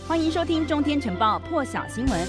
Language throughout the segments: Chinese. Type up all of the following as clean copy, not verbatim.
歡迎收聽《中天晨報》破曉新聞。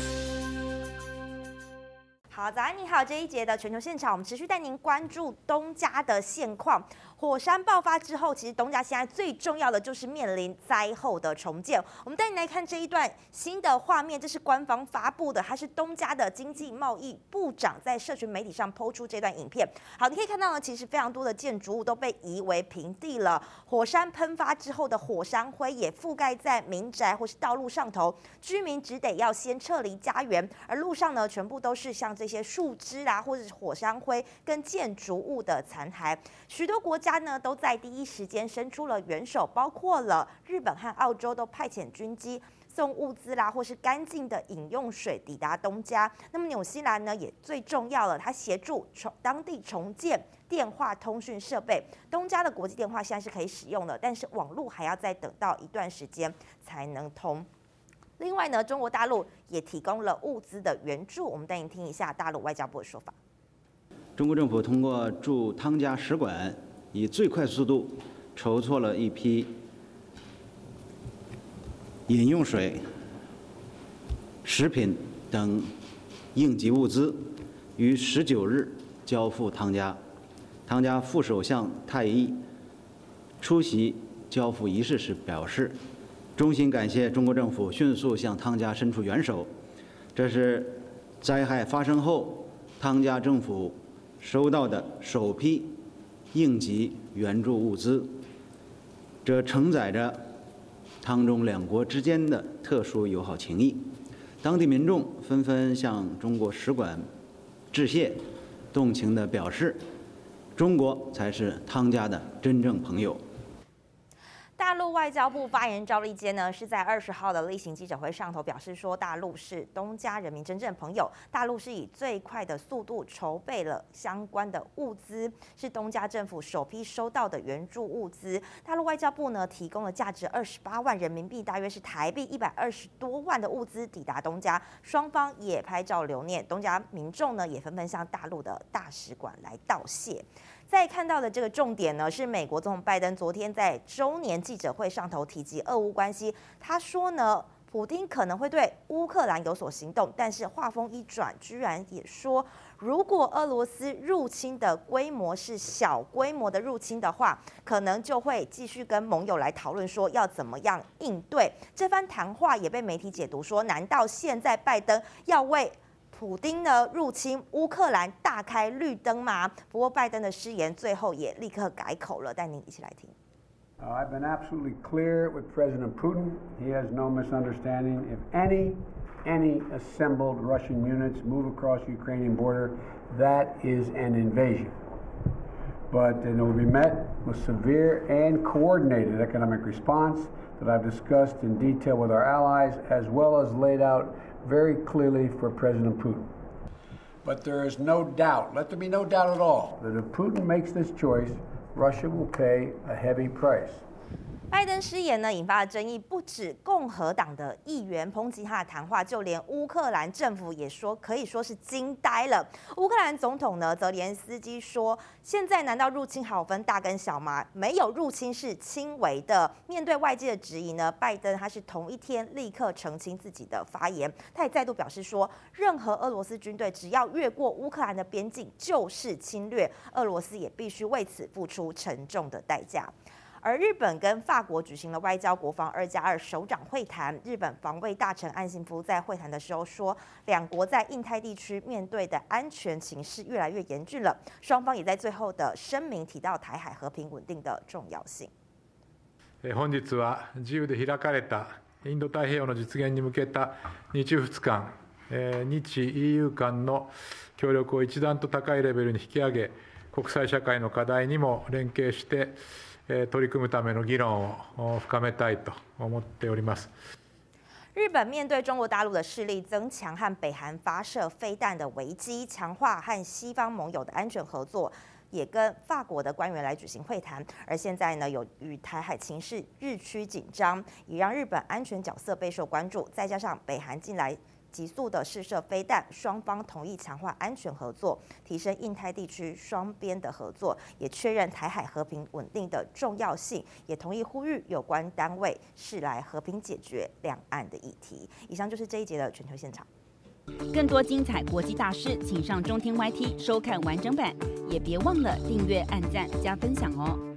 好，早安，你好。這一節的全球現場，我們持續帶您關注東加的現況。火山爆發之後，其實東加現在最重要的就是面臨災後的重建。我們帶您來看這一段新的畫面，這是官方發布的，它是東加的經濟貿易部長在社群媒體上拋出這段影片。好，你可以看到呢，其實非常多的建築物都被夷為平地了。火山噴發之後的火山灰也覆蓋在民宅或是道路上頭，居民只得要先撤離家園，而路上呢，全部都是像這些樹枝啊，或者是火山灰跟建築物的殘骸。許多國家呢都在第一時間伸出了援手，包括了日本和澳洲都派遣軍機送物資啦，或是乾淨的飲用水抵達東加。那麼紐西蘭呢也最重要了，它協助當地重建電話通訊設備。東加的國際電話現在是可以使用的，但是網絡還要再等到一段時間才能通。另外呢，中國大陸也提供了物資的援助，我們带您听一下大陸外交部的說法。 中国政府通過驻湯加使館，以最快速度筹措了一批飲用水、食品等應急物資，於19日交付湯加。湯加副首相泰伊出席交付儀式時表示，衷心感謝中國政府迅速向湯加伸出援手，這是災害發生後湯加政府收到的首批應急援助物資，這承載着湯中兩國之間的特殊友好情誼。當地民眾紛紛向中國使館致謝，動情地表示，中國才是湯加的真正朋友。 大陸外交部發言人趙立堅呢，是在20號的例行記者會上頭表示說，大陸是東加人民真正朋友，大陸是以最快的速度籌備了相關的物資，是東加政府首批收到的援助物資。大陸外交部呢，提供了價值28萬人民幣，大約是台幣120多萬的物資抵達東加，雙方也拍照留念。東加民眾呢，也紛紛向大陸的大使館來道謝。再看到的這個重點呢，是美國總統拜登昨天在週年記者會上頭提及俄烏關係。他說呢，普丁可能會對烏克蘭有所行動，但是話鋒一轉，居然也說，如果俄羅斯入侵的規模是小規模的入侵的話，可能就會繼續跟盟友來討論說要怎麼樣應對。這番談話也被媒體解讀說，難道現在拜登要為普丁呢入侵烏克蘭大開綠燈嗎？不過拜登的誓言最後也立刻改口了，帶您一起來聽。 I've been absolutely clear with President Putin. He has no misunderstanding. If any assembled Russian units move across the Ukrainian border, that is an invasion. But it will be met with severe and coordinated economic response that I've discussed in detail with our allies, as well as laid out very clearly for President Putin. But there is no doubt, let there be no doubt at all, that if Putin makes this choice, Russia will pay a heavy price. 拜登失言呢，引發了爭議，不止共和黨的議員抨擊他的談話，就連烏克蘭政府也說，可以說是驚呆了。烏克蘭總統呢，澤連斯基說：“現在難道入侵還有分大跟小嗎？沒有入侵是輕微的。”面對外界的質疑呢，拜登他是同一天立刻澄清自己的發言，他也再度表示說，任何俄羅斯軍隊只要越過烏克蘭的邊境就是侵略，俄羅斯也必須為此付出沉重的代價。而日本跟法國舉行了外交國防2+2首長會談，日本防衛大臣岸信夫在會談的時候說，兩國在印太地區面對的安全情勢越來越嚴峻了。雙方也在最後的聲明提到台海和平穩定的重要性。 本日は自由で開かれたインド太平洋の実現に向けた日仏間、日 EU 間の協力を一段と高いレベルに引き上げ、国際社会の課題にも連携して取り組むための議論を深めたいと思っております。 日本面對中國大陸的勢力增強和北韓發射飛彈的危機，強化和西方盟友的安全合作，也跟法國的官員來舉行會談。而現在呢，由於台海情勢日趨緊張，也讓日本安全角色備受關注。再加上北韓近來急速的試射飛彈，雙方同意強化安全合作，提升印太地區雙邊的合作，也確認台海和平穩定的重要性，也同意呼籲有關單位釋來和平解決兩岸的議題。以上就是這一節的全球現場。 更多精彩國際大事，請上中天 YT 收看完整版，也別忘了訂閱、按讚、加分享哦。